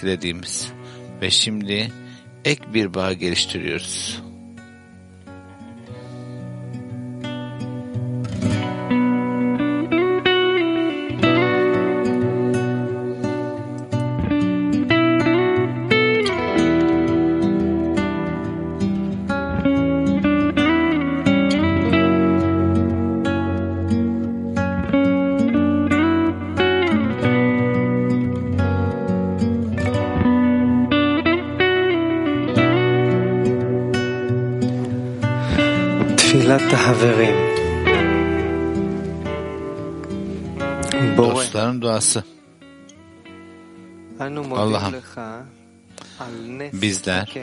etkilediğimiz ve şimdi ek bir bağ geliştiriyoruz. Dostların duası. Allah'ım, bizler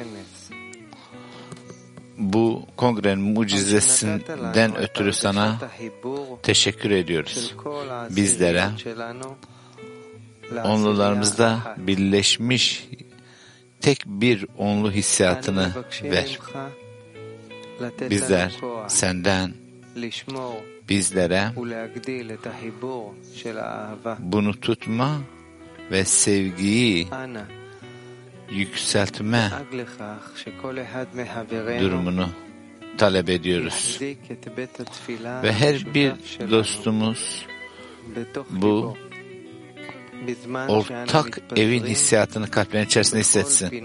bu kongrenin mucizesinden ötürü sana teşekkür ediyoruz. Bizlere onlularımızda birleşmiş tek bir onlu hissiyatını ver. Bizler senden bizlere bunu tutma ve sevgiyi yükseltme durumunu talep ediyoruz. Ve her bir dostumuz bu ortak evin hissiyatını kalplerin içerisinde hissetsin.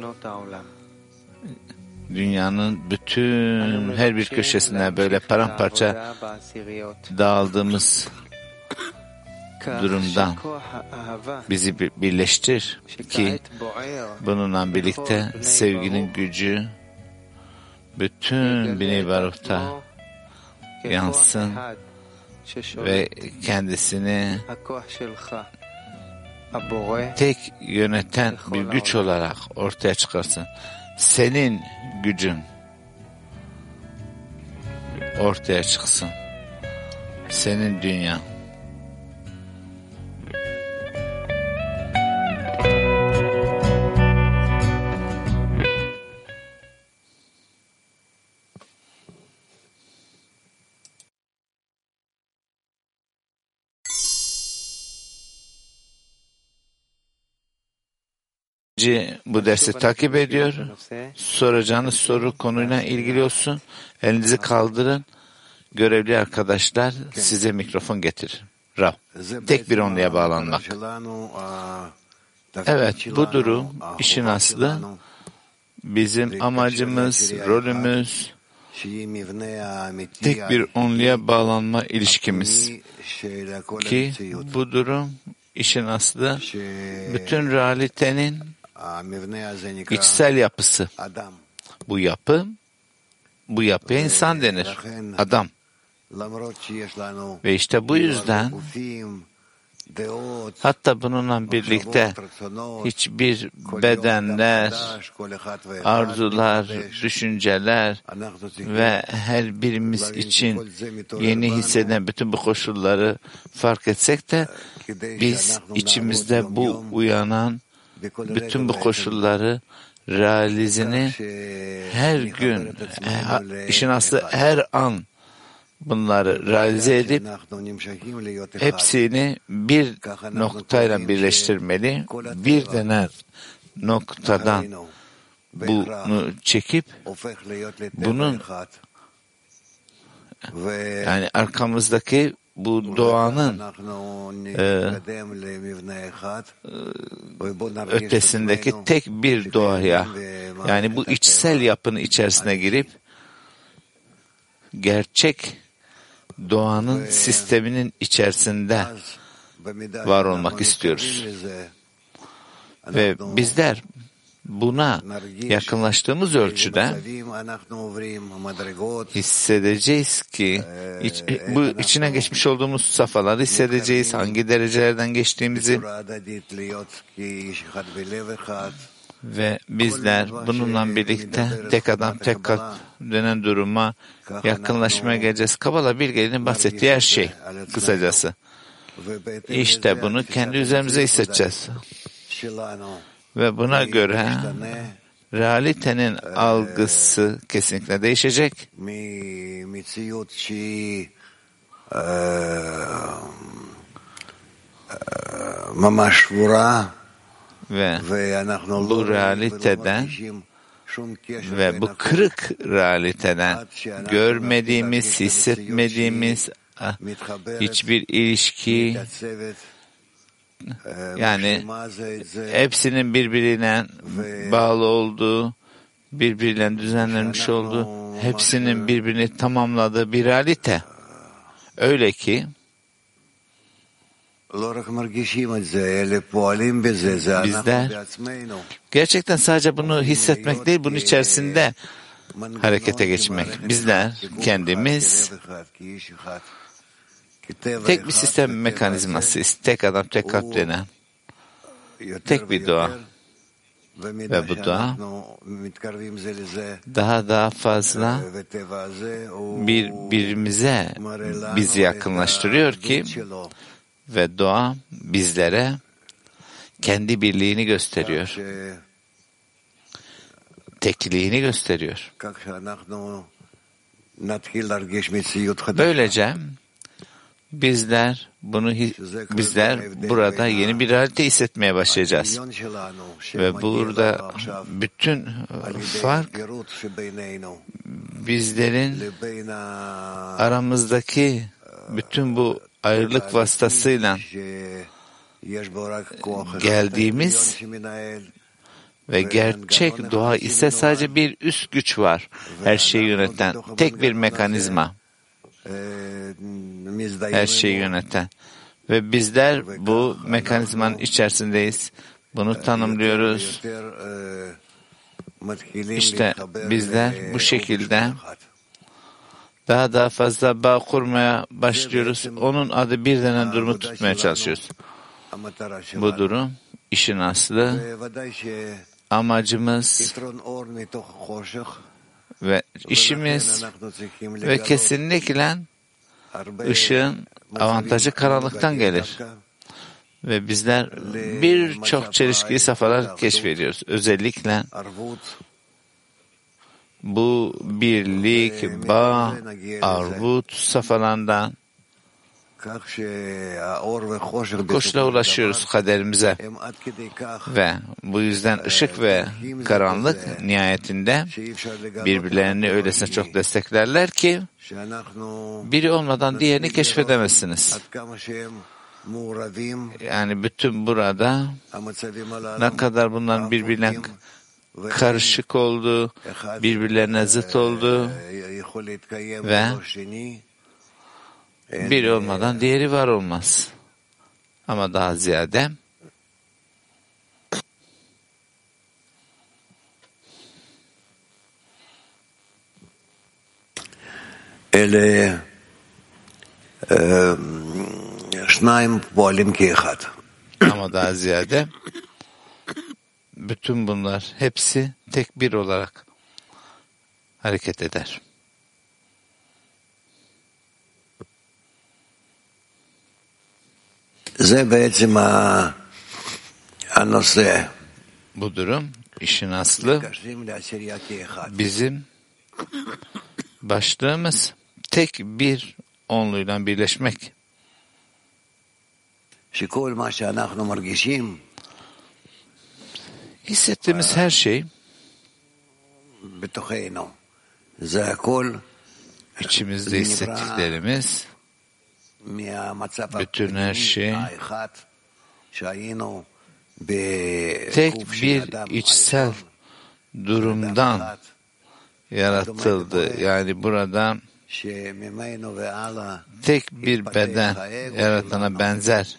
Dünyanın bütün her bir köşesine böyle paramparça dağıldığımız durumdan bizi birleştir ki bununla birlikte sevginin gücü bütün Bnei Baruch'ta yansın ve kendisini tek yöneten bir güç olarak ortaya çıkarsın. Senin gücün ortaya çıksın. Senin dünya. Bu dersi takip ediyor. Soracağınız soru konuyla ilgili olsun. Elinizi kaldırın. Görevli arkadaşlar size mikrofon getirir. Rav. Tek bir onluya bağlanmak. Evet, bu durum işin aslı. Bizim amacımız, rolümüz tek bir onluya bağlanma ilişkimiz. Ki bu durum işin aslı bütün realitenin içsel yapısı. Bu yapıya insan denir. Adam. Ve işte bu yüzden hatta bununla birlikte hiçbir bedenler, arzular, düşünceler ve her birimiz için yeni hisseden bütün bu koşulları fark etsek de biz içimizde bu uyanan bütün bu koşulları realizini her gün, işin aslı her an bunları realize edip hepsini bir noktayla birleştirmeli. Bir dener noktadan bunu çekip bunun yani arkamızdaki bu doğanın ötesindeki tek bir doğaya, yani bu içsel yapının içerisine girip gerçek doğanın sisteminin içerisinde var olmak istiyoruz. Ve bizler buna yakınlaştığımız ölçüde hissedeceğiz ki bu içine geçmiş olduğumuz safhaları hissedeceğiz, hangi derecelerden geçtiğimizi ve bizler bununla birlikte tek adam tek kalp denen duruma yakınlaşmaya geleceğiz. Kabala Bilge'nin bahsettiği her şey kısacası. İşte bunu kendi üzerimize hissedeceğiz. Ve buna göre realitenin algısı kesinlikle değişecek. ve bu realiteden ve bu kırık realiteden görmediğimiz, hissetmediğimiz hiçbir ilişki, yani hepsinin birbirine bağlı olduğu, birbiriyle düzenlenmiş olduğu, hepsinin birbirini tamamladığı bir realite. Öyle ki bizler gerçekten sadece bunu hissetmek değil, bunun içerisinde harekete geçmek. Bizler kendimiz tek bir sistem mekanizmasıyız. Tek adam, tek kalp denen. Tek bir doğa. Ve bu doğa daha fazla birbirimize bizi yakınlaştırıyor ki ve doğa bizlere kendi birliğini gösteriyor. Tekliğini gösteriyor. Böylece bizler burada yeni bir realite hissetmeye başlayacağız. Ve burada bütün fark bizlerin aramızdaki bütün bu ayrılık vasıtasıyla geldiğimiz ve gerçek doğa ise sadece bir üst güç var. Her şeyi yöneten tek bir mekanizma. Her şeyi yöneten. Ve bizler bu mekanizmanın içerisindeyiz. Bunu tanımlıyoruz. İşte bizler bu şekilde daha fazla bağ kurmaya başlıyoruz. Onun adı bir denen durumu tutmaya çalışıyoruz. Bu durum işin aslı, amacımız ve işimiz ve kesinlikle ışığın avantajı karanlıktan gelir. Ve bizler birçok çelişkili safhalar keşfediyoruz. Özellikle bu birlik, bağ, arvut safhalarından koşula ulaşıyoruz kaderimize. Ve bu yüzden ışık ve karanlık nihayetinde birbirlerini öylesine çok desteklerler ki biri olmadan diğerini keşfedemezsiniz. Yani bütün burada ne kadar bunların birbirine karışık olduğu, birbirlerine zıt olduğu ve biri olmadan diğeri var olmaz. Ama daha ziyade ama daha ziyade bütün bunlar hepsi tek bir olarak hareket eder. Bu durum işin aslı bizim başlığımız tek bir onluyla birleşmek. Hissettiğimiz her şey içimizde hissettiklerimiz bütün her şey tek bir içsel durumdan yaratıldı. Yani burada tek bir beden yaratana benzer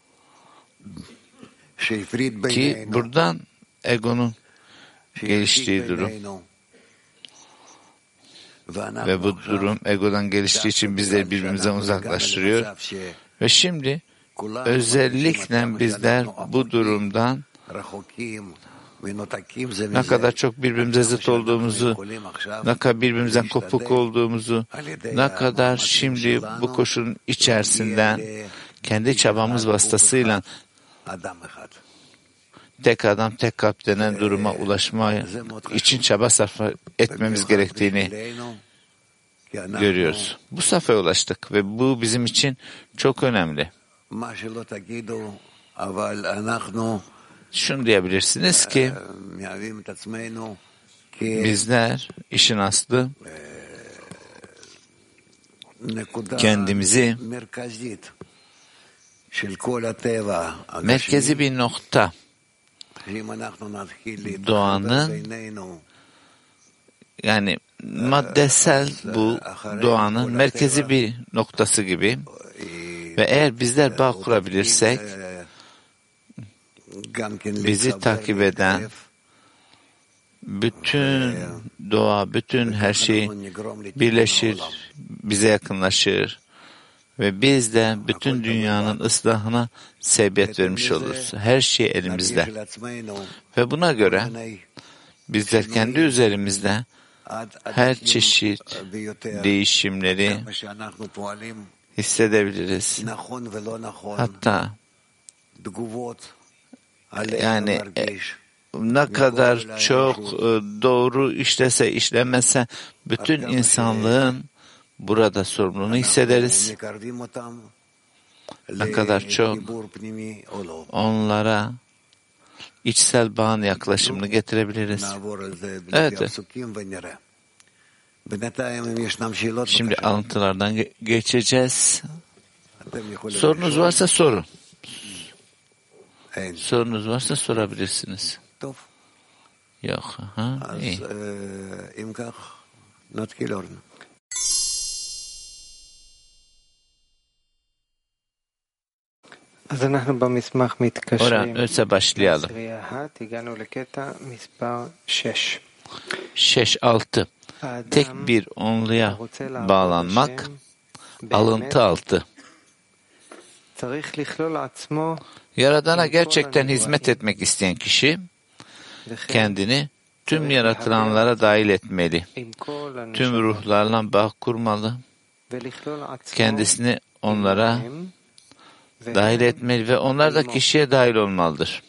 ki buradan egonun geliştiği durum ve bu durum egodan geliştiği için bizleri birbirimizden uzaklaştırıyor ve şimdi özellikle bizler bu durumdan ne kadar çok birbirimize zıt olduğumuzu, ne kadar birbirimizden kopuk olduğumuzu, ne kadar şimdi bu koşulun içerisinden kendi çabamız vasıtasıyla tek adam, tek kalp denen duruma ulaşma için çaba sarf etmemiz gerektiğini görüyoruz. Bu safhaya ulaştık ve bu bizim için çok önemli. şunu diyebilirsiniz ki bizler işin aslı kendimizi merkezi bir nokta, doğanın, yani maddesel bu doğanın merkezi bir noktası gibi ve eğer bizler bağ kurabilirsek bizi takip eden bütün doğa, bütün her şey birleşir, bize yakınlaşır ve biz de bütün dünyanın ıslahına sebebiyet vermiş oluruz. Her şey elimizde. Ve buna göre bizler kendi üzerimizde her çeşit değişimleri hissedebiliriz. Hatta yani ne kadar çok doğru işlese işlemese bütün insanlığın burada sorumluluğunu hissederiz. Ne kadar çok onlara içsel bağın yaklaşımını getirebiliriz. Evet. Şimdi alıntılardan geçeceğiz. Sorunuz varsa sorun. Sorunuz varsa sorabilirsiniz. Yok. İyi. Öyleyse başlayalım. 6. Tek bir onluya bağlanmak, alıntı 6. Yaradana gerçekten hizmet etmek isteyen kişi kendini tüm yaratılanlara dahil etmeli. Tüm ruhlarla bağ kurmalı. Kendisini onlara dahil etmeli ve onlar da kişiye dahil olmalıdır.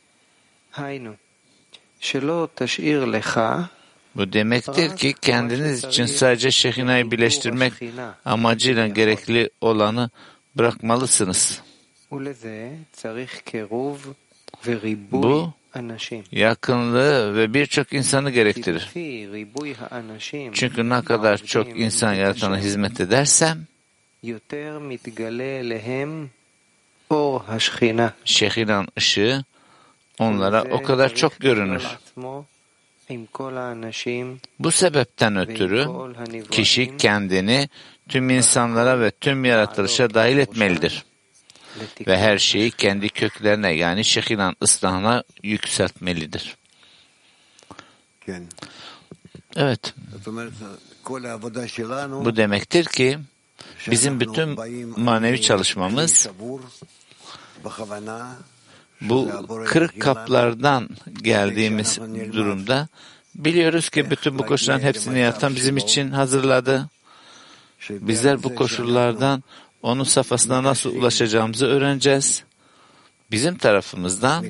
Bu demektir ki kendiniz için sadece Şehina'yı birleştirmek amacıyla gerekli olanı bırakmalısınız. Bu yakınlığı ve birçok insanı gerektirir. Çünkü ne kadar çok insan yaratana hizmet edersem Şehina'nın ışığı onlara o kadar çok görünür. Bu sebepten ötürü kişi kendini tüm insanlara ve tüm yaratılışa dahil etmelidir. Ve her şeyi kendi köklerine yani Şehina'nın ıslahına yükseltmelidir. Evet. Bu demektir ki bizim bütün manevi çalışmamız bu kırık kaplardan geldiğimiz durumda biliyoruz ki bütün bu koşulların hepsini yaratan bizim için hazırladı. Bizler bu koşullardan onun safhasına nasıl ulaşacağımızı öğreneceğiz. Bizim tarafımızdan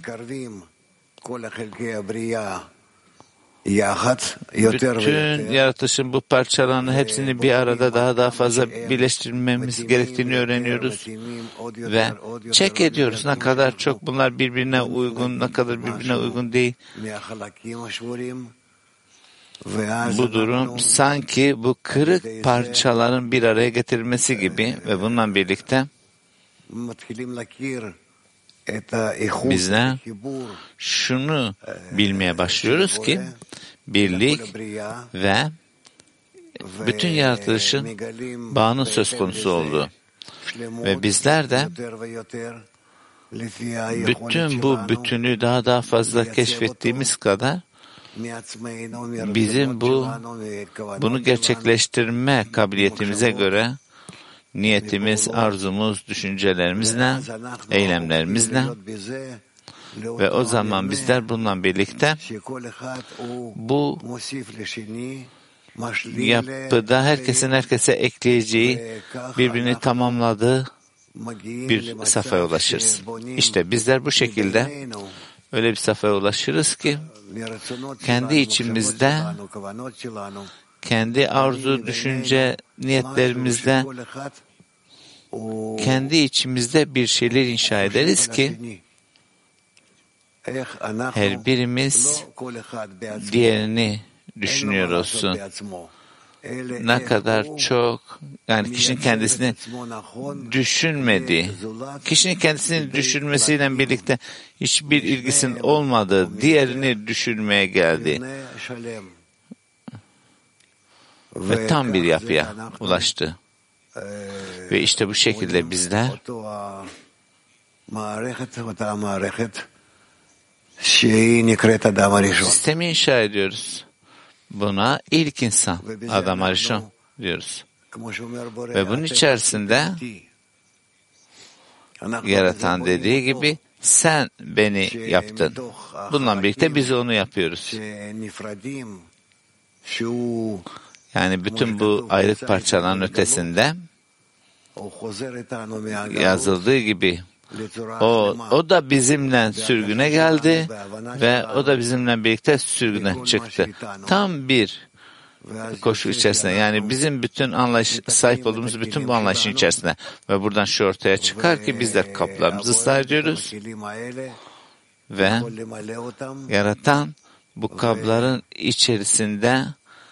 bütün yaratışın bu parçalarını hepsini bir arada daha fazla birleştirmemiz gerektiğini öğreniyoruz ve check ediyoruz ne kadar çok bunlar birbirine uygun, ne kadar birbirine uygun değil. Bu durum sanki bu kırık parçaların bir araya getirilmesi gibi ve bununla birlikte bizler şunu bilmeye başlıyoruz ki birlik ve bütün yaratılışın bağının söz konusu olduğu ve bizler de bütün bu bütünü daha fazla keşfettiğimiz kadar bizim bunu gerçekleştirme kabiliyetimize göre niyetimiz, arzumuz, düşüncelerimizle, eylemlerimizle ve o zaman bizler bununla birlikte bu yapıda herkesin herkese ekleyeceği, birbirini tamamladığı bir safhaya ulaşırız. İşte bizler bu şekilde öyle bir safhaya ulaşırız ki kendi içimizde, kendi arzu, düşünce, niyetlerimizde, kendi içimizde bir şeyler inşa ederiz ki her birimiz diğerini düşünüyor olsun. Ne kadar çok, yani kişinin kendisini düşünmediği, kişinin kendisini düşünmesiyle birlikte hiçbir ilgisinin olmadığı diğerini düşünmeye geldi. Ve tam bir yapıya ulaştı. Ve işte bu şekilde bizler sistemi inşa ediyoruz. Buna ilk insan, Adam Arishon diyoruz. Ve bunun içerisinde yaratan dediği gibi sen beni yaptın. Bununla birlikte biz onu yapıyoruz. Yani bütün bu ayrık parçaların ötesinde yazıldığı gibi o da bizimle sürgüne geldi ve o da bizimle birlikte sürgüne çıktı. Tam bir koşu içerisinde, yani bizim bütün sahip olduğumuz bütün bu anlayışın içerisinde ve buradan şu ortaya çıkar ki biz de kaplarımızı ıslah ediyoruz ve yaratan bu kapların içerisinde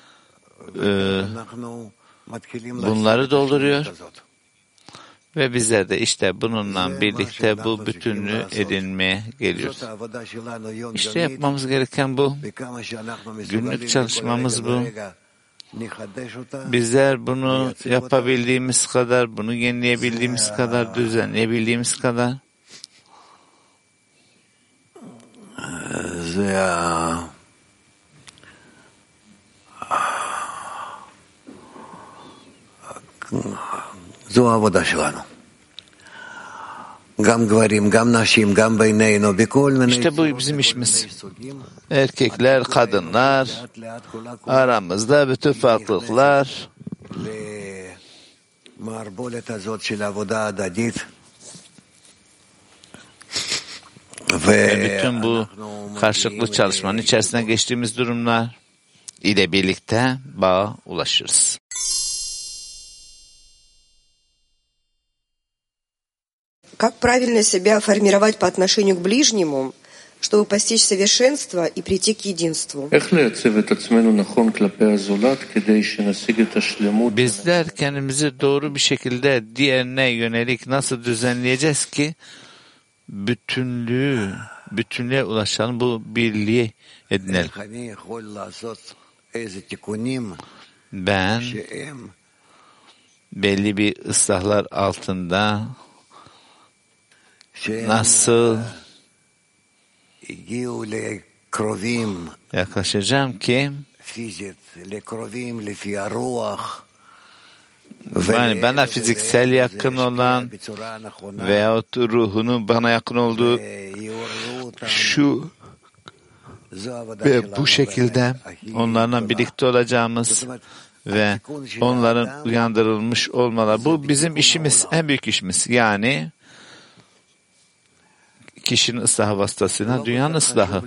bunları dolduruyor. Ve bizler de işte bununla birlikte bu bütünlüğü edinmeye geliyoruz. İşte yapmamız gereken bu. Günlük çalışmamız bu. Bizler bunu yapabildiğimiz kadar, bunu yenileyebildiğimiz kadar, düzenleyebildiğimiz kadar זו העבודה שלנו. גם גברים, גם נשים, גם בינינו, בכל מיני İşte bu bizim işimiz. Erkekler, kadınlar, aramızda bütün farklılıklar, למערבולת הזאת של העבודה ההדדית. ve bütün bu karşılıklı çalışmanın içerisine geçtiğimiz durumlar ile birlikte bağa ulaşırız. Как правильно себя формировать по отношению к ближнему, чтобы постичь совершенство и прийти к единству? Bizler kendimizi doğru bir şekilde diğerine yönelik nasıl düzenleyeceğiz ki bütünlüğe ulaşalım, bu birliği edinelim. Ben belli bir ıslahlar altında nasıl yaklaşacağım ki yani bana fiziksel yakın olan veyahut ruhunun bana yakın olduğu şu ve bu şekilde onlarla birlikte olacağımız ve onların uyandırılmış olmaları, bu bizim işimiz, en büyük işimiz. Yani kişinin ıslahı vasıtasıyla dünyanın ıslahı.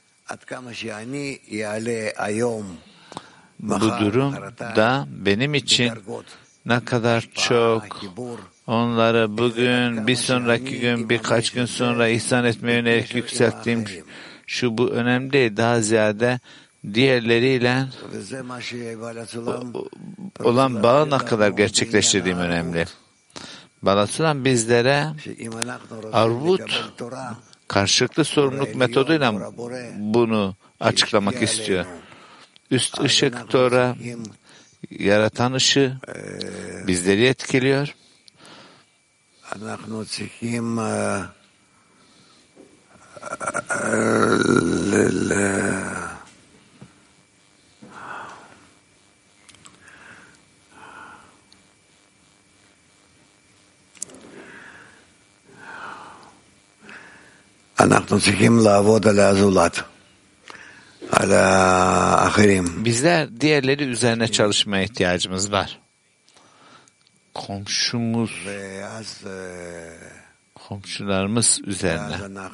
Bu durum da benim için ne kadar çok onları bugün, bir sonraki gün, birkaç gün sonra ihsan etmeye yönelik yükselttiğim şu bu önemli değil. Daha ziyade diğerleriyle olan bağı ne kadar gerçekleştirdiğim önemli. Balasulam bizlere arvut, karşılıklı sorumluluk metoduyla bunu açıklamak istiyor. Üst ışık Tora, yaratan ışığı bizleri etkiliyor. Bizler diğerleri üzerine çalışmaya ihtiyacımız var. Komşularımız üzerine.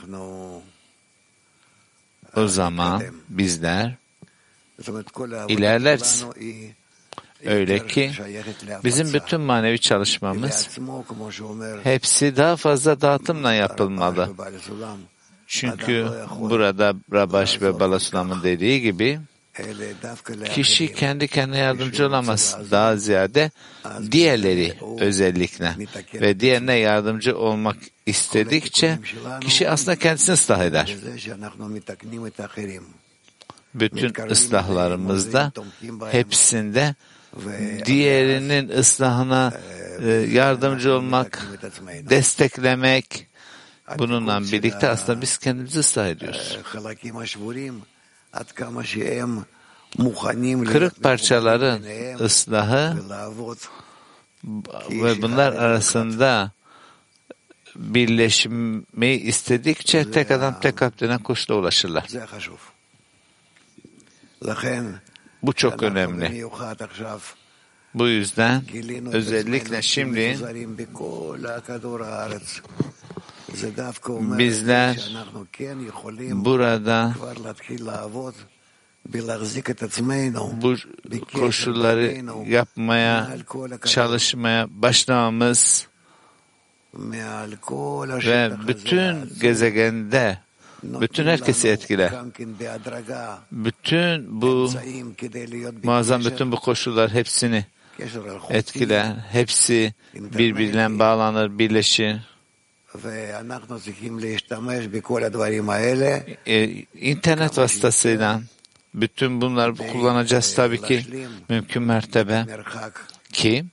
O zaman bizler ilerleriz. Öyle ki bizim bütün manevi çalışmamız hepsi daha fazla dağıtımla yapılmalı. Çünkü burada Rabash ve Balasulam'ın dediği gibi kişi kendi kendine yardımcı olamaz. Daha ziyade diğerleri özellikle ve diğerine yardımcı olmak istedikçe kişi aslında kendisini ıslah eder. Bütün ıslahlarımızda hepsinde diğerinin ıslahına yardımcı olmak, desteklemek, bununla birlikte aslında biz kendimizi ıslah ediyoruz. Kırık parçaların ıslahı ve bunlar arasında birleşmeyi istedikçe tek adam tek kalpten kuşla ulaşırlar. Bu çok önemli. Bu yüzden özellikle şimdi bizler burada bu koşulları yapmaya, çalışmaya başlamamız ve bütün gezegende bütün herkesi etkiler. Bütün bu muazzam bütün bu koşullar hepsini etkiler. Hepsi birbirine bağlanır, birleşir. İnternet vasıtasıyla bütün bunları kullanacağız tabii ki mümkün mertebe ki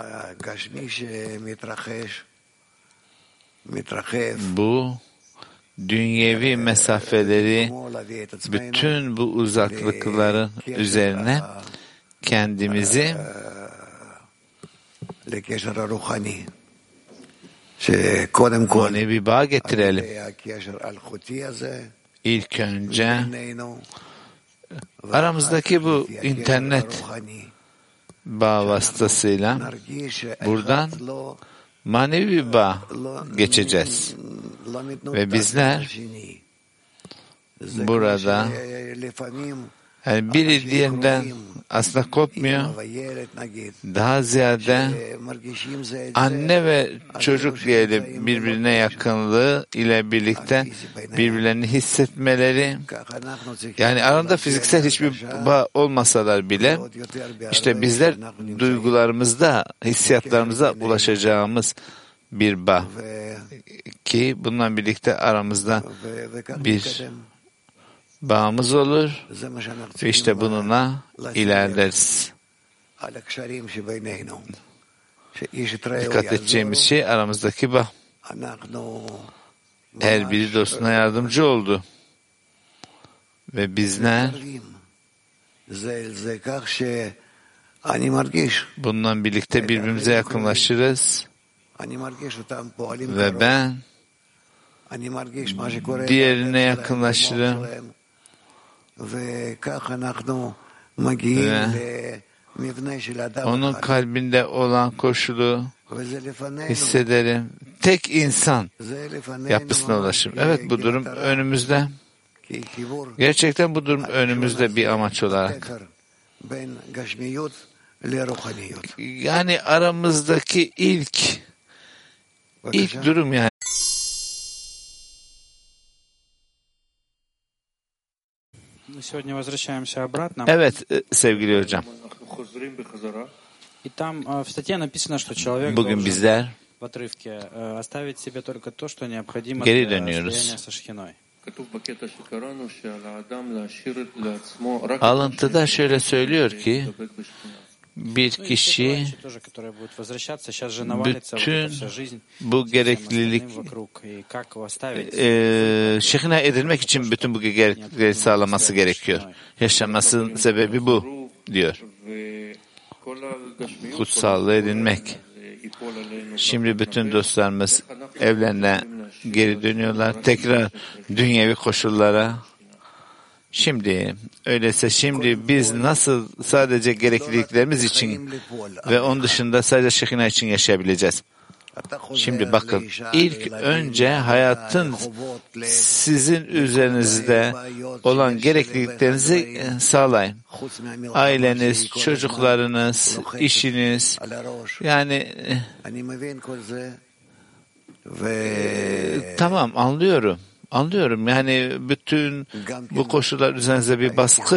bu dünyevi mesafeleri bütün bu uzaklıkların üzerine kendimizi manevi bağ getirelim. İlk önce aramızdaki bu internet bağ vasıtasıyla buradan manevi bir bağ geçeceğiz. Ve bizler burada yani biri diğerinden aslında kopmuyor. Daha ziyade anne ve çocuk diyelim birbirine yakınlığı ile birlikte birbirlerini hissetmeleri, yani arasında fiziksel hiçbir bağ olmasalar bile işte bizler duygularımızda, hissiyatlarımıza ulaşacağımız bir bağ ki bununla birlikte aramızda bir bağımız olur ve işte bununla ilerleriz. Dikkat edeceğimiz şey aramızdaki bağ. Her biri dostuna yardımcı oldu. Ve bizler bununla birlikte birbirimize yakınlaşırız. Ve ben diğerine yakınlaşırım. Ve onun kalbinde olan koşulu hissederim. Tek insan yapısına ulaşırım. Evet, bu durum önümüzde. Gerçekten bu durum önümüzde bir amaç olarak. Yani aramızdaki ilk durum yani. Evet sevgili hocam. Bugün bizler geri dönüyoruz. Alıntıda şöyle söylüyor ki bir kişi bütün bu gereklilik şehina edilmek için bütün bu gereklilikleri sağlaması gerekiyor. Yaşamasının sebebi bu diyor. Kutsallığı edinmek. Şimdi bütün dostlarımız evlerine geri dönüyorlar. Tekrar dünyevi koşullara. Şimdi öyleyse şimdi biz nasıl sadece gerekliliklerimiz için ve onun dışında sadece şehina için yaşayabileceğiz? Şimdi bakın, ilk önce hayatın sizin üzerinizde olan gerekliliklerinizi sağlayın. Aileniz, çocuklarınız, işiniz, yani tamam anlıyorum Anlıyorum. Yani bütün bu koşullar üzerinize bir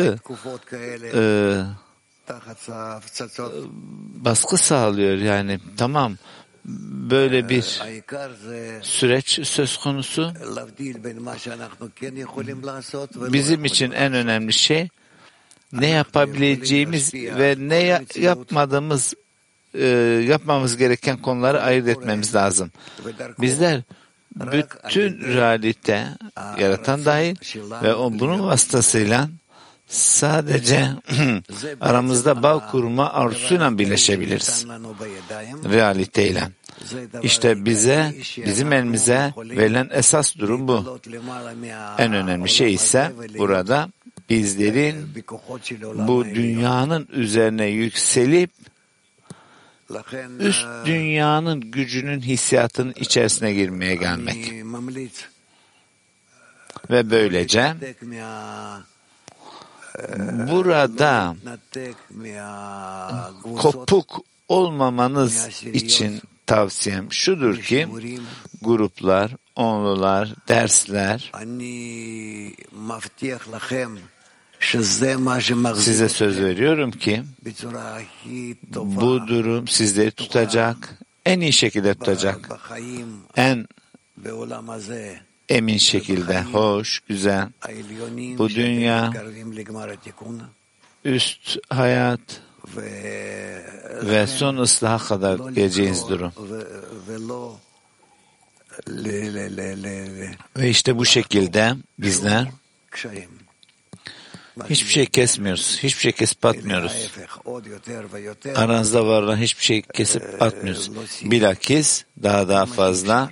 baskı sağlıyor. Yani tamam, böyle bir süreç söz konusu. Bizim için en önemli şey ne yapabileceğimiz ve ne yapmamız gereken konuları ayırt etmemiz lazım. Bizler bütün realite, yaratan dahil ve bunun vasıtasıyla sadece aramızda bağ kurma arzusuyla birleşebiliriz. Realiteyle. İşte bizim elimize verilen esas durum bu. En önemli şey ise burada bizlerin bu dünyanın üzerine yükselip üst dünyanın gücünün hissiyatının içerisine girmeye gelmek. Ve böylece burada kopuk olmamanız için tavsiyem şudur ki gruplar, onlular, dersler, size söz veriyorum ki bu durum sizleri tutacak, en iyi şekilde tutacak, en emin şekilde, hoş, güzel, bu dünya, üst hayat ve son ıslaha kadar geleceğiniz durum. Ve işte bu şekilde bizler hiçbir şey kesmiyoruz, hiçbir şey kesip atmıyoruz. Aranızda var olan hiçbir şey kesip atmıyoruz. Bilakis daha fazla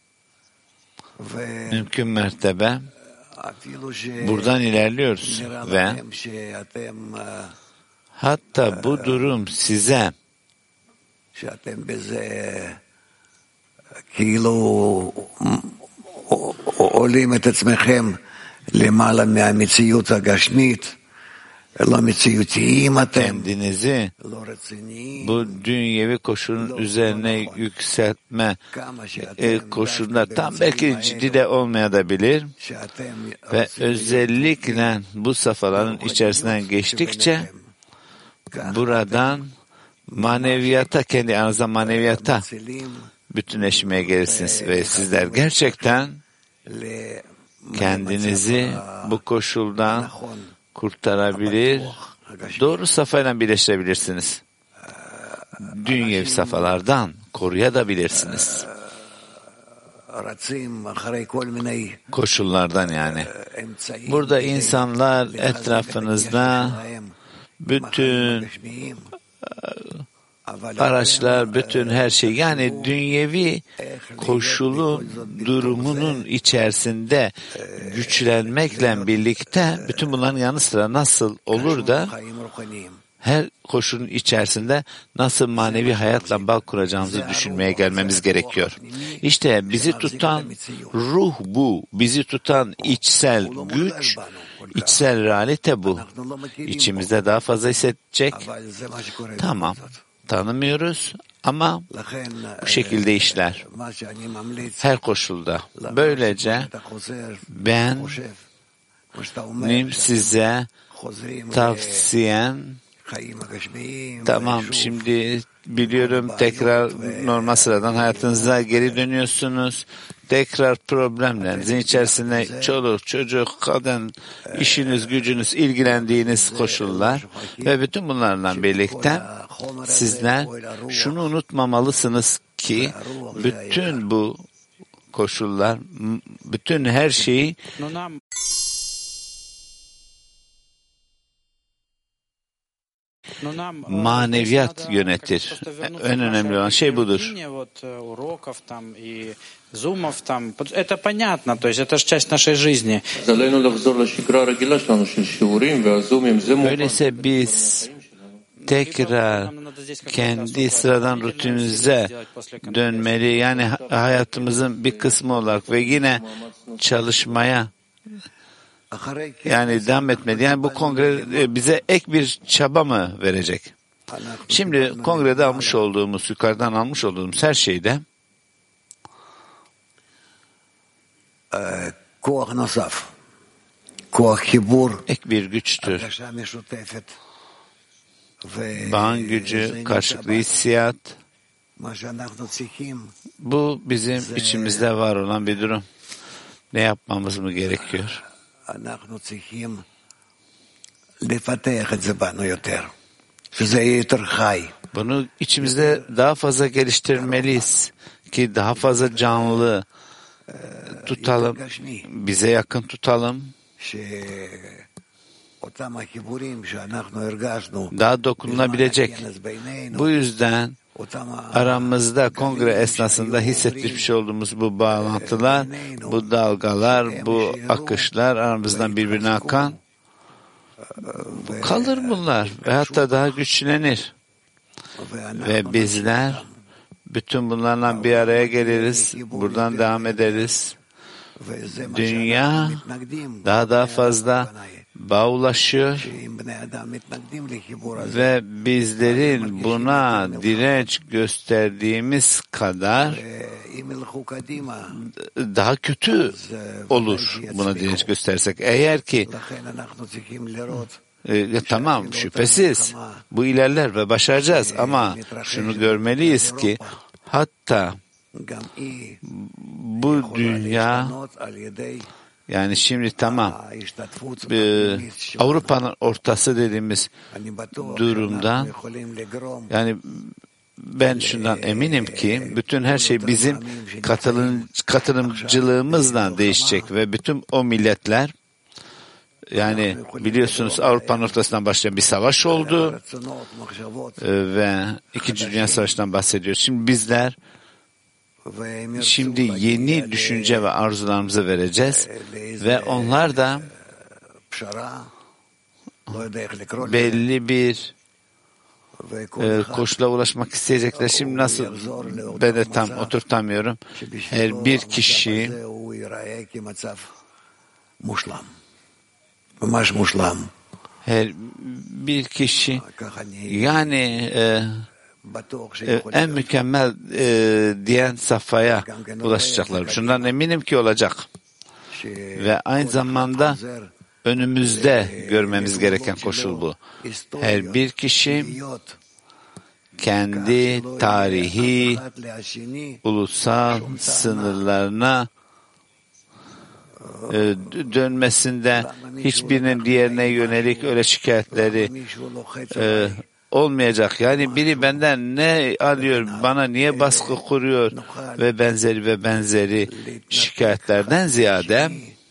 mümkün mertebe buradan ilerliyoruz ve hatta bu durum size kendinizi bu dünyevi koşulun üzerine yükseltme koşulunda tam belki ciddi de olmayabilir ve özellikle bu safhaların içerisinden geçtikçe buradan maneviyata, kendi aranızda maneviyata bütünleşmeye gelirsiniz ve sizler gerçekten kendinizi bu koşuldan kurtarabilir, doğru safhayla birleştirebilirsiniz. Dünyevi safhalardan koruyabilirsiniz. Koşullardan yani. Burada insanlar etrafınızda bütün araçlar, bütün her şey, yani dünyevi koşulun durumunun içerisinde güçlenmekle birlikte bütün bunların yanı sıra nasıl olur da her koşulun içerisinde nasıl manevi hayatla bağ kuracağımızı düşünmeye gelmemiz gerekiyor. İşte bizi tutan ruh bu, bizi tutan içsel güç, içsel realite bu. İçimizde daha fazla hissedecek. Tamam, tanımıyoruz ama bu şekilde işler. Her koşulda. Böylece benim size tavsiyem, tamam, şimdi biliyorum tekrar normal sıradan hayatınıza geri dönüyorsunuz. Tekrar problemlerinizin içerisinde çoluk, çocuk, kadın, işiniz, gücünüz, ilgilendiğiniz koşullar ve bütün bunlarla birlikte sizler şunu unutmamalısınız ki bütün bu koşullar, bütün her şeyi maneviyat yönetir. En önemli olan şey budur. Это понятно, то есть это же часть нашей жизни. Öyleyse biz tekrar kendi sıradan rutinimize dönmeli. Yani hayatımızın bir kısmı olarak ve yine çalışmaya yani devam etmeli. Yani bu kongre bize ek bir çaba mı verecek? Şimdi kongrede almış olduğumuz, yukarıdan almış olduğumuz her şeyde Ek bir güçtür. Bağın gücü, karşılıklı hissiyat. Bu bizim içimizde var olan bir durum. Ne yapmamız mı gerekiyor? Bunu içimizde daha fazla geliştirmeliyiz ki daha fazla canlı tutalım, bize yakın tutalım. Daha dokunulabilecek. Bu yüzden aramızda kongre esnasında hissetmiş olduğumuz bu bağlantılar, bu dalgalar, bu akışlar aramızdan birbirine akan kalır bunlar ve hatta daha güçlenir. Ve bizler bütün bunlarla bir araya geliriz, buradan devam ederiz. Dünya daha fazla bağ ulaşıyor ve bizlerin buna direnç gösterdiğimiz kadar daha kötü olur buna direnç göstersek. Eğer ki tamam, şüphesiz bu ilerler ve başaracağız ama şunu görmeliyiz ki hatta bu dünya, yani şimdi tamam Avrupa'nın ortası dediğimiz durumda, yani ben şundan eminim ki bütün her şey bizim katılımcılığımızla değişecek ve bütün o milletler, yani biliyorsunuz Avrupa'nın ortasından başlayan bir savaş oldu ve İkinci Dünya Savaşı'ndan bahsediyoruz. Şimdi bizler yeni düşünce ve arzularımızı vereceğiz ve onlar da belli bir koşula ulaşmak isteyecekler. Şimdi nasıl, ben de tam oturtamıyorum. Her bir kişi yani en mükemmel diyen safhaya ulaşacaklar. Şundan eminim ki olacak. Ve aynı zamanda önümüzde görmemiz gereken koşul bu. Her bir kişi kendi tarihi, ulusal sınırlarına dönmesinde hiçbirinin diğerine yönelik öyle şikayetleri olmayacak. Yani biri benden ne alıyor, bana niye baskı kuruyor ve benzeri şikayetlerden ziyade,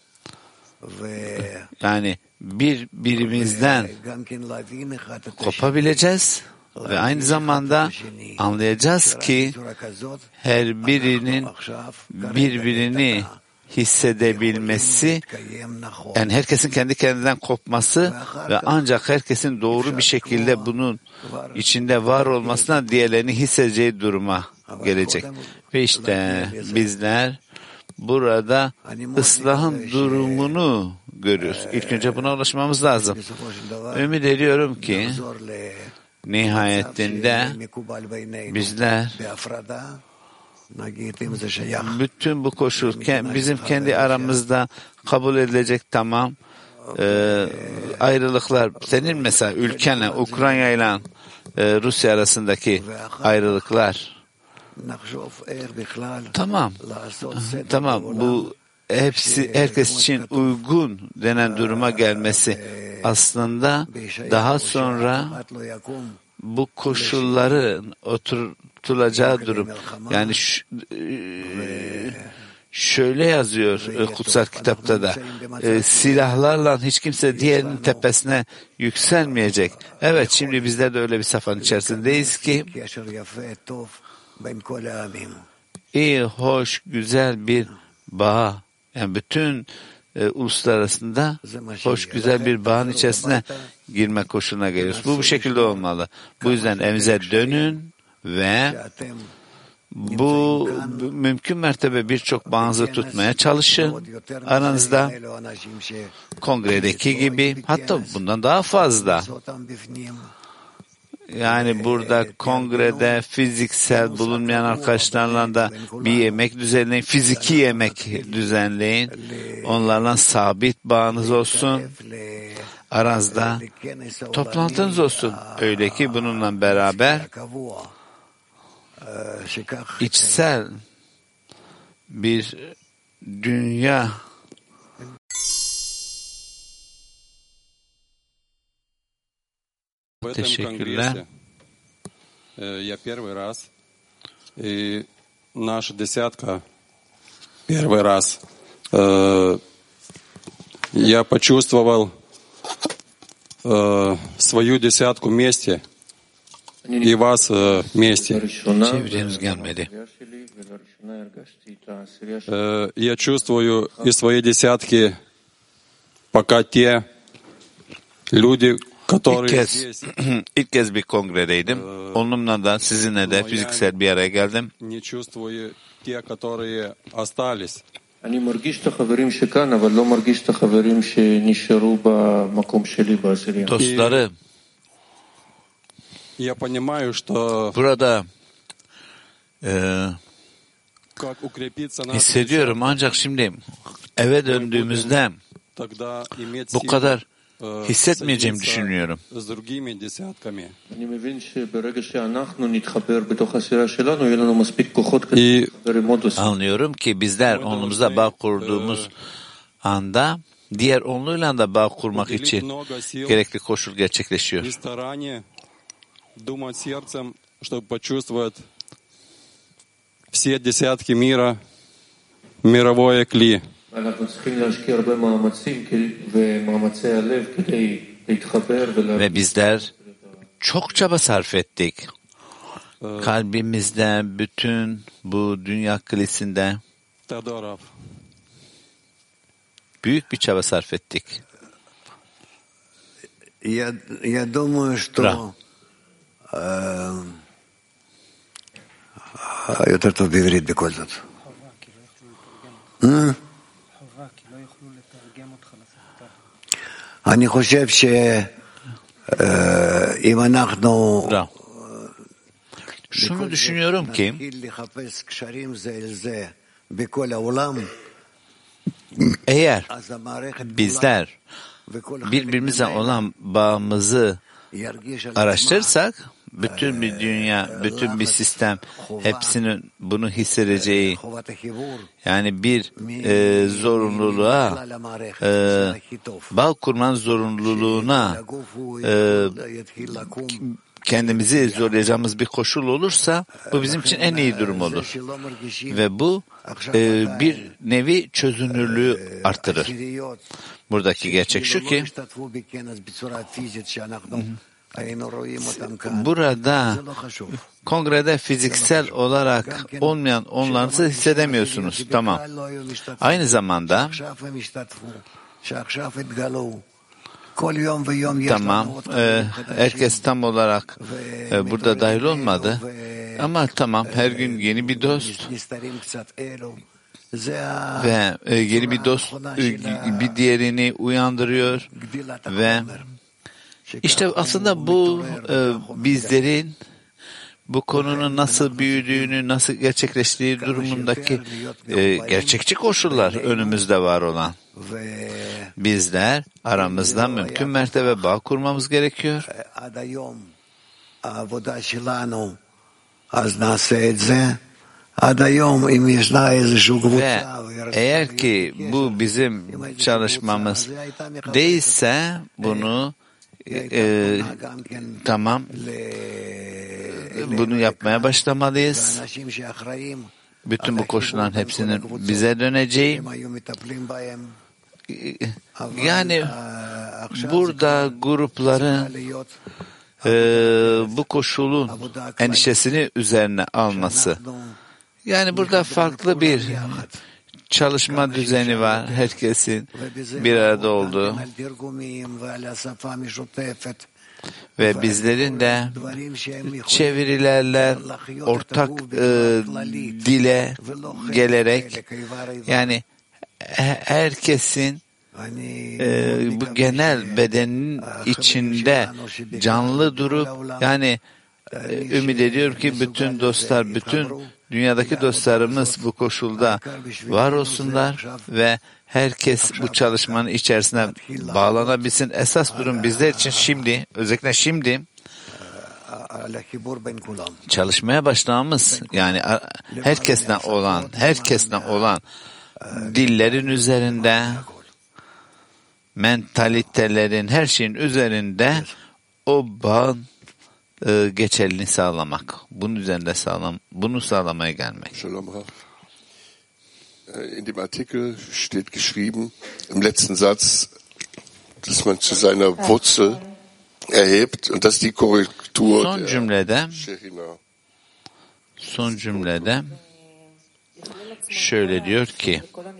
yani birbirimizden kopabileceğiz ve aynı zamanda anlayacağız ki her birinin birbirini hissedebilmesi, yani herkesin kendi kendinden kopması ve ancak herkesin doğru bir şekilde bunun içinde var olmasına diğerlerini hissedeceği duruma gelecek. Ve işte bizler burada ıslahın durumunu görüyoruz. İlk önce buna ulaşmamız lazım. Ümit ediyorum ki nihayetinde bizler bütün bu koşul bizim kendi aramızda kabul edilecek, tamam, ayrılıklar, senin mesela ülkenle, Ukrayna ile Rusya arasındaki ayrılıklar, tamam, bu hepsi herkes için uygun denen duruma gelmesi aslında daha sonra bu koşulların oturtulacağı durum. Yani şöyle yazıyor kutsal kitapta da, silahlarla hiç kimse diğerinin tepesine yükselmeyecek. Evet, şimdi bizler de öyle bir safhanın içerisindeyiz ki iyi, hoş, güzel bir bağ, yani bütün uluslar arasında hoş, güzel bir bağın içerisine girme koşuluna geliyoruz. Bu şekilde olmalı. Bu yüzden evinize dönün ve bu mümkün mertebe birçok bağınızı tutmaya çalışın. Aranızda kongredeki gibi, hatta bundan daha fazla. Yani burada kongrede fiziksel bulunmayan arkadaşlarla da bir yemek düzenleyin, fiziki yemek düzenleyin. Onlarla sabit bağınız olsun. Aranızda toplantınız olsun. Öyle ki bununla beraber içsel bir dünya Teşekkürler. Я первый раз, и наша десятка первый раз. Я почувствовал свою десятку вместе и вас вместе. çevreniz gelmedi. Я чувствую и свои десятки, пока те люди, İlk kez bir kongredeydim. Onunla da sizinle de fiziksel bir araya geldim. אני מרגיש את החברים שכאן, אבל לא מרגיש את החברים שנשארו במקום שלי בעשירייה. Dostları burada hissediyorum ancak şimdi eve döndüğümüzde bu kadar hissetmeyeceğimi düşünüyorum. Anlıyorum ki bizler onlumuzda bağ kurduğumuz anda diğer onluyla da bağ kurmak için gerekli koşul gerçekleşiyor. Все десятки мира, мировое кли. Ve bizler çok çaba sarf ettik. Kalbimizde, bütün bu dünya kilisinde büyük bir çaba sarf ettik. יותר טוב בעברית בכל זאת. אני חושב שאם אנחנו şunu düşünüyorum ki eğer bizler birbirimize olan bağımızı araştırırsak bütün bir dünya, bütün bir sistem hepsinin bunu hissedeceği, yani bir zorunluluğa, bağ kurmanın zorunluluğuna kendimizi zorlayacağımız bir koşul olursa bu bizim için en iyi durum olur. Ve bu bir nevi çözünürlüğü artırır. Buradaki gerçek şu ki burada kongrede fiziksel olarak olmayan onlarınızı hissedemiyorsunuz. Tamam. Aynı zamanda tamam, herkes tam olarak burada dahil olmadı. Ama tamam, her gün yeni bir dost ve yeni bir dost bir diğerini uyandırıyor ve işte aslında bu bizlerin bu konunun nasıl büyüdüğünü, nasıl gerçekleştiği durumundaki gerçekçi koşullar önümüzde var olan. Bizler aramızda mümkün mertebe bağ kurmamız gerekiyor. Ve eğer ki bu bizim çalışmamız değilse bunu tamam, bunu yapmaya başlamalıyız. Bütün bu koşulların hepsinin bize döneceği. Yani burada grupların bu koşulun endişesini üzerine alması. Yani burada farklı bir çalışma düzeni var. Herkesin bir arada olduğu ve bizlerin de çevirilerle ortak dile gelerek, yani herkesin bu genel bedenin içinde canlı durup yani ümit ediyorum ki bütün dostlar, bütün dünyadaki dostlarımız bu koşulda var olsunlar ve herkes bu çalışmanın içerisine bağlanabilsin. Esas durum bizler için şimdi, özellikle şimdi çalışmaya başlamamız, yani herkesle olan dillerin üzerinde, mentalitelerin, her şeyin üzerinde o bağın geçerliliğini sağlamak. Bunun üzerinde bunu sağlamaya gelmek. Shalom Rav. In dem Artikel steht geschrieben, im letzten Satz, dass man zu seiner Wurzel erhebt und dass die Korrektur Son cümlede şöyle diyor ki,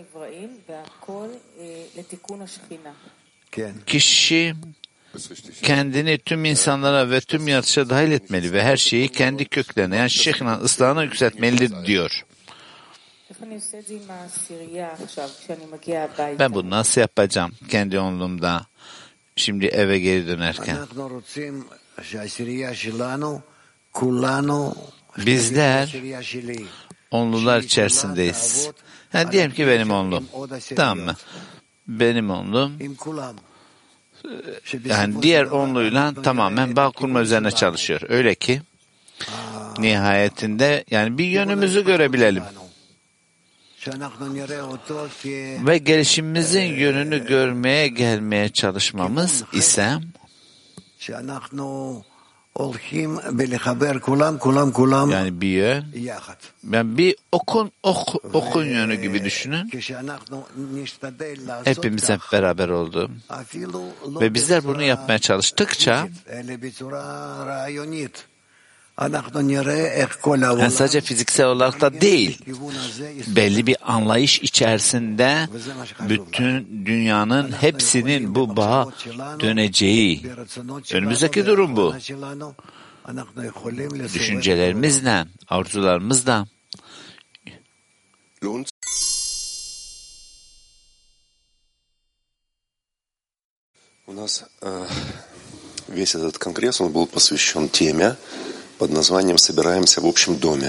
kişi kendini tüm insanlara ve tüm yaratışa dahil etmeli ve her şeyi kendi köklerine, yani Şekhina'nın ıslahına yükseltmelidir diyor. Ben bunu nasıl yapacağım kendi onluğumda, şimdi eve geri dönerken? Bizler onlular içerisindeyiz. Yani diyelim ki benim onluğum. Tamam mı? Benim onluğum yani diğer onluyla tamamen bağ kurma üzerine çalışıyor. Öyle ki nihayetinde yani bir yönümüzü görebilelim. Ve gelişimimizin yönünü görmeye gelmeye çalışmamız ise yani bir yön, ben bir okun yönü gibi düşünün. Hepimiz hep beraber oldu. Ve bizler bunu yapmaya çalıştıkça yani sadece fiziksel olarak da değil, belli bir anlayış içerisinde bütün dünyanın hepsinin bu bağa döneceği. Önümüzdeki durum bu. Düşüncelerimizle, arzularımızla. У нас весь этот конгресс, он был посвящен теме под названием «Собираемся в общем доме».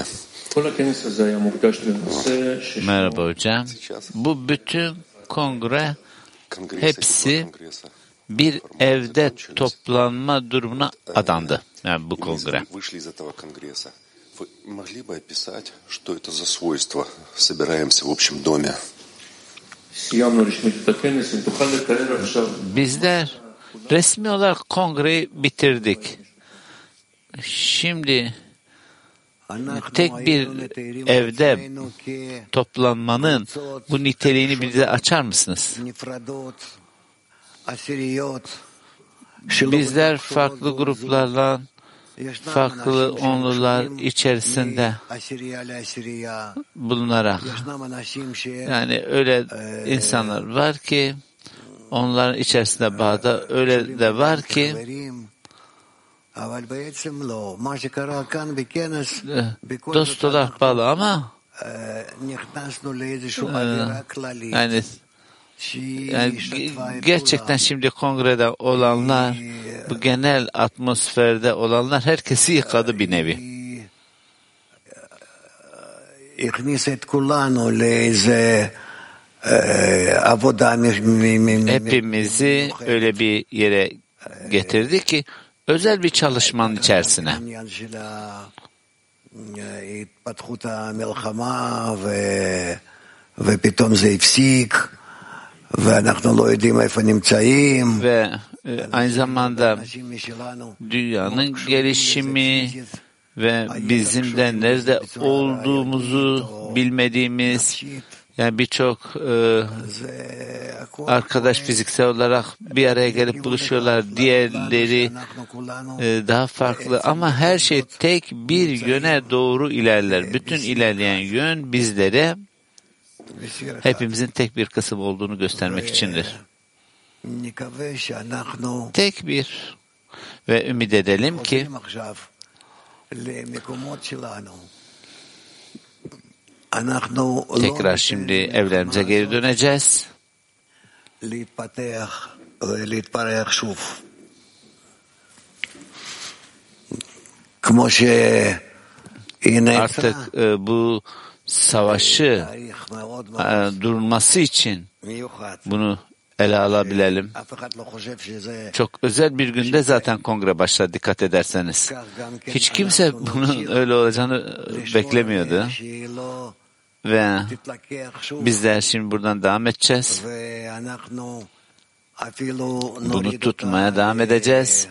Merhaba hocam. Bu bütün kongre hepsi bir evde toplanma durumuna adandı. Yani bu kongre. Вы могли бы описать, что это за свойство «Собираемся в общем доме»? Bizler resmi olarak kongreyi bitirdik. Şimdi tek bir evde toplanmanın bu niteliğini bize açar mısınız? Bizler farklı gruplarla, farklı onlular içerisinde bulunarak, yani öyle insanlar var ki onların içerisinde bağda, öyle de var ki dost olarak bağlı ama yani gerçekten şimdi kongrede olanlar, bu genel atmosferde olanlar herkesi yıkadı bir nevi. Hepimizi öyle bir yere getirdi ki özel bir çalışmanın içerisine. Ve aynı zamanda dünyanın gelişimi ve bizim de nerede olduğumuzu bilmediğimiz, yani birçok arkadaş fiziksel olarak bir araya gelip buluşuyorlar, diğerleri daha farklı ama her şey tek bir yöne doğru ilerler. Bütün ilerleyen yön bizlere hepimizin tek bir kısım olduğunu göstermek içindir. Tek bir ve ümit edelim ki tekrar şimdi evlerimize geri döneceğiz. להתפתח ולהתפרח שוב. כמו שהיא נעצרה, Artık bu savaşı תהליך מאוד מאוד durması için מיוחד. bunu ele alabilelim. אף אחד לא חושב שזה Çok özel bir günde zaten kongre başladı, dikkat ederseniz. Hiç kimse bunun öyle olacağını beklemiyordu. שהיא לא Ve תתלקח שוב, bizler şimdi buradan devam edeceğiz. ואנחנו אפילו Bunu נוריד tutmaya אותה devam edeceğiz.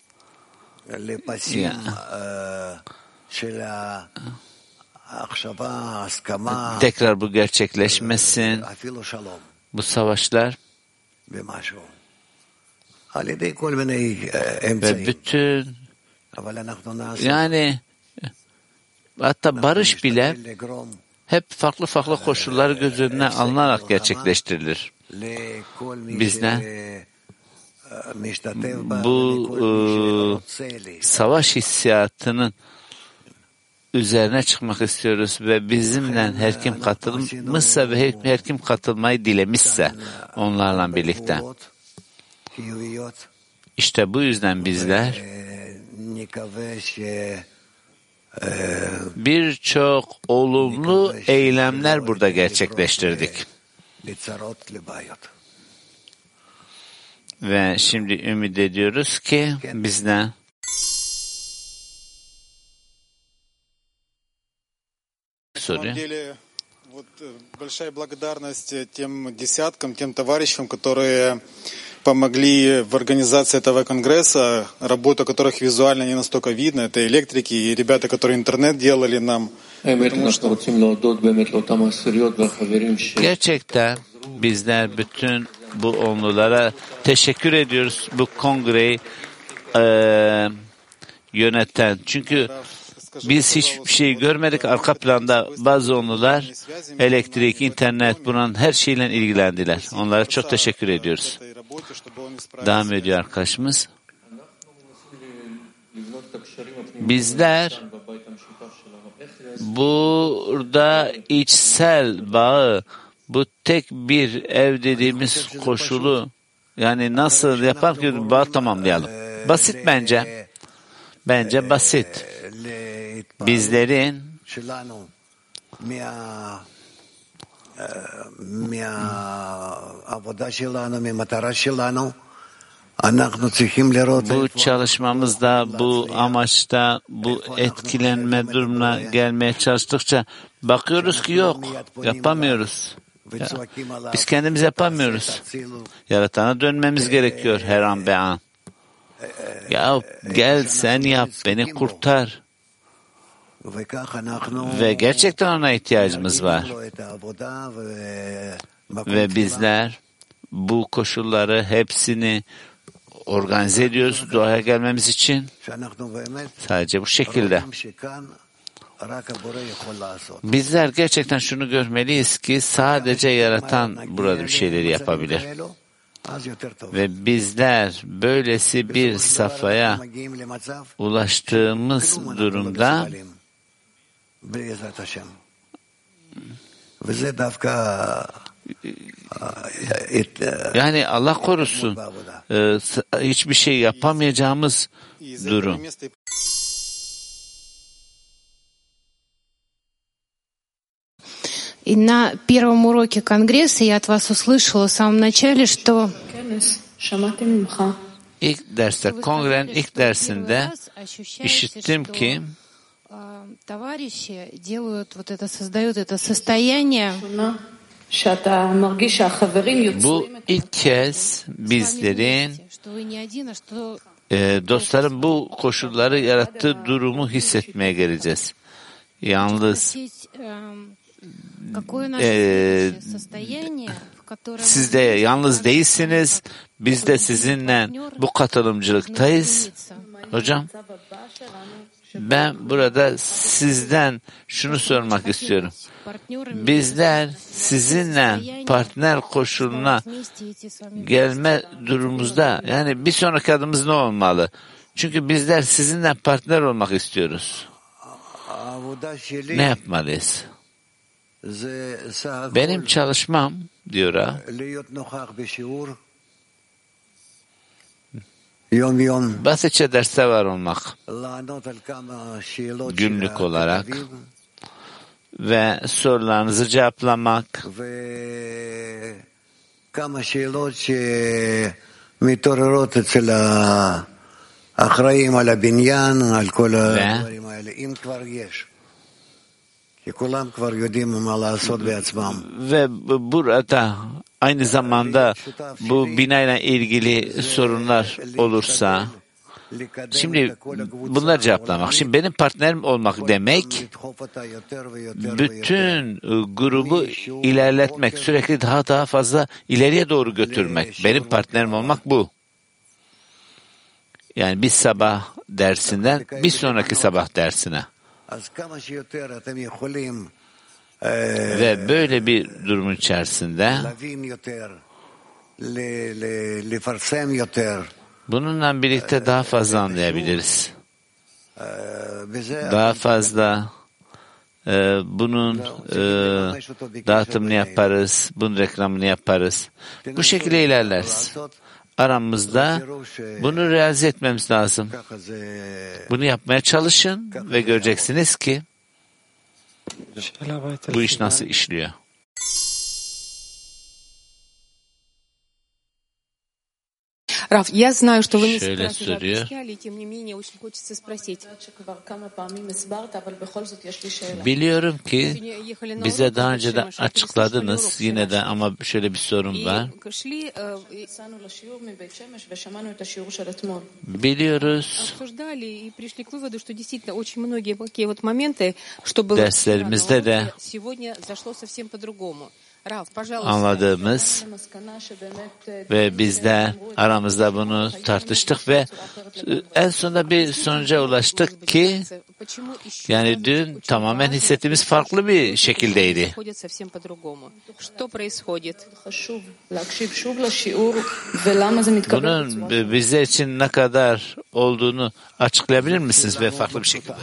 לפסים של ההחשבה, ההסכמה, Tekrar bu gerçekleşmesin. אפילו שלום Bu savaşlar במשהו. על ידי כל מיני ve אמצעים. bütün אבל אנחנו נעשה. yani hatta barış bile נשתדל לגרום hep farklı farklı koşullar göz önüne alınarak gerçekleştirilir. לכל מי Bizler שמשתתף בה, bu ולכל מי שרוצה savaş hissiyatının üzerine çıkmak istiyoruz ve bizimle her kim katılmışsa ve her kim katılmayı dilemişse onlarla birlikte. חיוביות. İşte bu yüzden bizler נקווה birçok olumlu eylemler burada gerçekleştirdik. לצרות לבעיות. Ve şimdi ümit ediyoruz ki bizden На самом деле, вот большая благодарность тем десяткам, тем товарищам, которые помогли в организации этого конгресса, работа которых визуально не настолько видно. Это электрики и ребята, которые интернет делали нам. Потому что gerçekten bizler bütün bu onlulara teşekkür ediyoruz bu kongreyi yöneten. Çünkü biz hiçbir şey görmedik. Arka planda bazı onlular elektrik, internet, bunun her şeyle ilgilendiler. Onlara çok teşekkür ediyoruz. Devam ediyor arkadaşımız. Bizler burada içsel bağı, bu tek bir ev dediğimiz koşulu, yani nasıl yapar ki bağı tamamlayalım? Basit bence. Bence basit. Bizlerin שלנו מהעבודה שלנו, מהמטרה שלנו, אנחנו צריכים לראות bu çalışmamızda, bu amaçta, bu etkilenme durumuna gelmeye çalıştıkça bakıyoruz ki yok, yapamıyoruz. Biz kendimiz yapamıyoruz. Yaratana dönmemiz gerekiyor her an be an. Ya gel sen yap, beni kurtar. Ve gerçekten ona ihtiyacımız var. Ve bizler bu koşulları hepsini organize ediyoruz duaya gelmemiz için. Sadece bu şekilde. Bizler gerçekten şunu görmeliyiz ki sadece yaratan burada bir şeyleri yapabilir. Ve bizler böylesi bir safhaya ulaştığımız durumda yani Allah korusun hiçbir şey yapamayacağımız durum. И на первом уроке Конгресса я от вас услышала в самом начале, что İlk derste, kongrenin ilk dersinde işittim ki товарищи делают вот это, создают это состояние. Bu ilk kez bizlerin dostların bu koşulları yarattığı durumu hissetmeye geleceğiz. Yalnız siz de yalnız değilsiniz. Biz de sizinle bu katılımcılıktayız. Hocam, ben burada sizden şunu sormak istiyorum. Bizler sizinle partner koşuluna gelme durumumuzda, yani bir sonraki adımız ne olmalı? Çünkü bizler sizinle partner olmak istiyoruz. Ne yapmalıyız? Benim çalışmam, diyor ha, basitçe derste var olmak, günlük olarak ve sorularınızı cevaplamak ve burada aynı zamanda bu binayla ilgili sorunlar olursa, şimdi bunları cevaplamak. Şimdi benim partnerim olmak demek, bütün grubu ilerletmek, sürekli daha fazla ileriye doğru götürmek. Benim partnerim olmak bu. Yani bir sabah dersinden bir sonraki sabah dersine. Ve böyle bir durumun içerisinde bununla birlikte daha fazla anlayabiliriz. Daha fazla bunun dağıtımını yaparız, bunun reklamını yaparız. Bu şekilde ilerleriz. Aramızda bunu realize etmemiz lazım. Bunu yapmaya çalışın ve göreceksiniz ki bu iş nasıl işliyor. Раф, я знаю, что вы несколько Şöyle раз уже soruyor. объясняли, и тем не менее очень хочется спросить. Biliyorum ki bize daha önce de açıkladınız, yine de ama şöyle bir sorun var. Biliyoruz, derslerimizde de anladığımız ve biz de aramızda bunu tartıştık ve en sonunda bir sonuca ulaştık ki yani dün tamamen hissettiğimiz farklı bir şekildeydi. Bunun bizler için ne kadar olduğunu açıklayabilir misiniz ve farklı bir şekilde?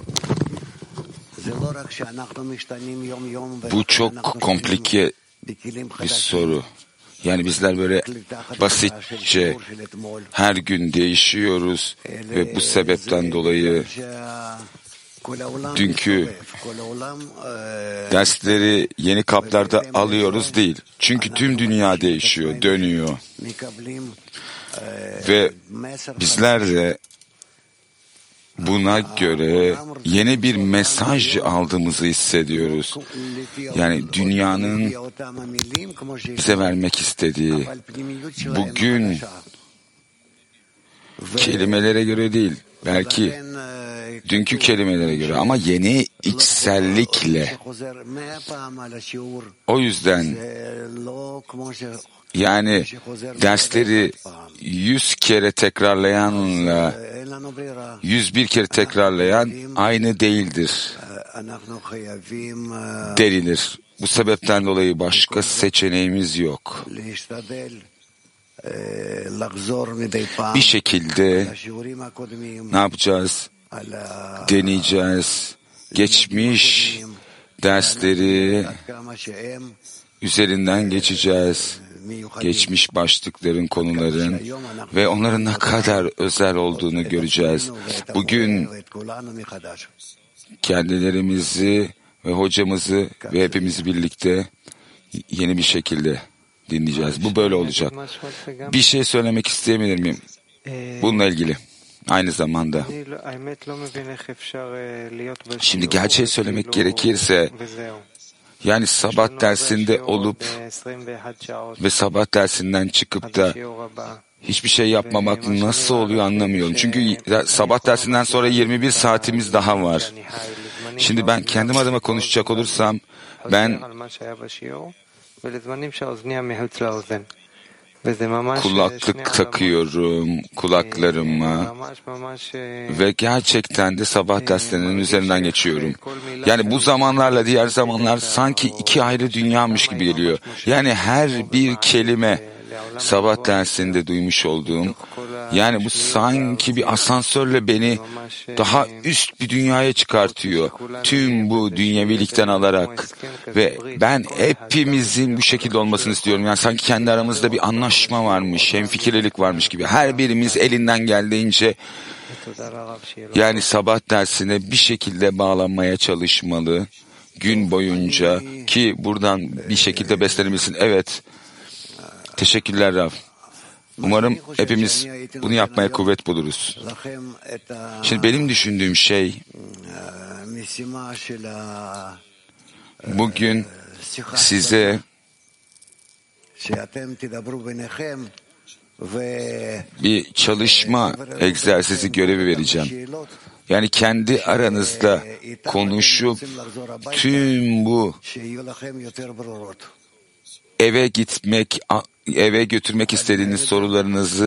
Bu çok komplike bir soru. Yani bizler böyle basitçe her gün değişiyoruz ve bu sebepten dolayı dünkü dersleri yeni kaplarda alıyoruz değil. Çünkü tüm dünya değişiyor, dönüyor. Ve bizler de buna göre yeni bir mesaj aldığımızı hissediyoruz. Yani dünyanın bize vermek istediği, bugün kelimelere göre değil, belki dünkü kelimelere göre ama yeni içsellikle. O yüzden yani dersleri 100 kere tekrarlayanla 101 kere tekrarlayan aynı değildir denilir. Bu sebepten dolayı başka seçeneğimiz yok. Bir şekilde ne yapacağız? Deneyeceğiz. Geçmiş dersleri üzerinden geçeceğiz. Geçmiş başlıkların, konuların ve onların ne kadar özel olduğunu göreceğiz. Bugün kendilerimizi ve hocamızı ve hepimizi birlikte yeni bir şekilde dinleyeceğiz. Bu böyle olacak. Bir şey söylemek isteyebilir miyim? Bununla ilgili. Aynı zamanda. Şimdi gerçeği söylemek gerekirse yani sabah dersinde olup ve sabah dersinden çıkıp da hiçbir şey yapmamak nasıl oluyor anlamıyorum. Çünkü sabah dersinden sonra 21 saatimiz daha var. Şimdi ben kendim adıma konuşacak olursam ben kulaklık takıyorum kulaklarıma ve gerçekten de sabah derslerinin üzerinden geçiyorum. Yani bu zamanlarla diğer zamanlar sanki iki ayrı dünyamış gibi geliyor. Yani her bir kelime sabah dersinde duymuş olduğum Yani bu sanki bir asansörle beni daha üst bir dünyaya çıkartıyor. Tüm bu dünyevilikten alarak ve ben hepimizin bu şekilde olmasını istiyorum. Yani sanki kendi aramızda bir anlaşma varmış, hemfikirlilik varmış gibi. Her birimiz elinden geldiğince yani sabah dersine bir şekilde bağlanmaya çalışmalı. Gün boyunca ki buradan bir şekilde beslenilmesin. Evet. Teşekkürler Rav. Umarım hepimiz bunu yapmaya kuvvet buluruz. Şimdi benim düşündüğüm şey bugün size bir çalışma egzersizi görevi vereceğim. Yani kendi aranızda konuşup tüm bu eve götürmek istediğiniz sorularınızı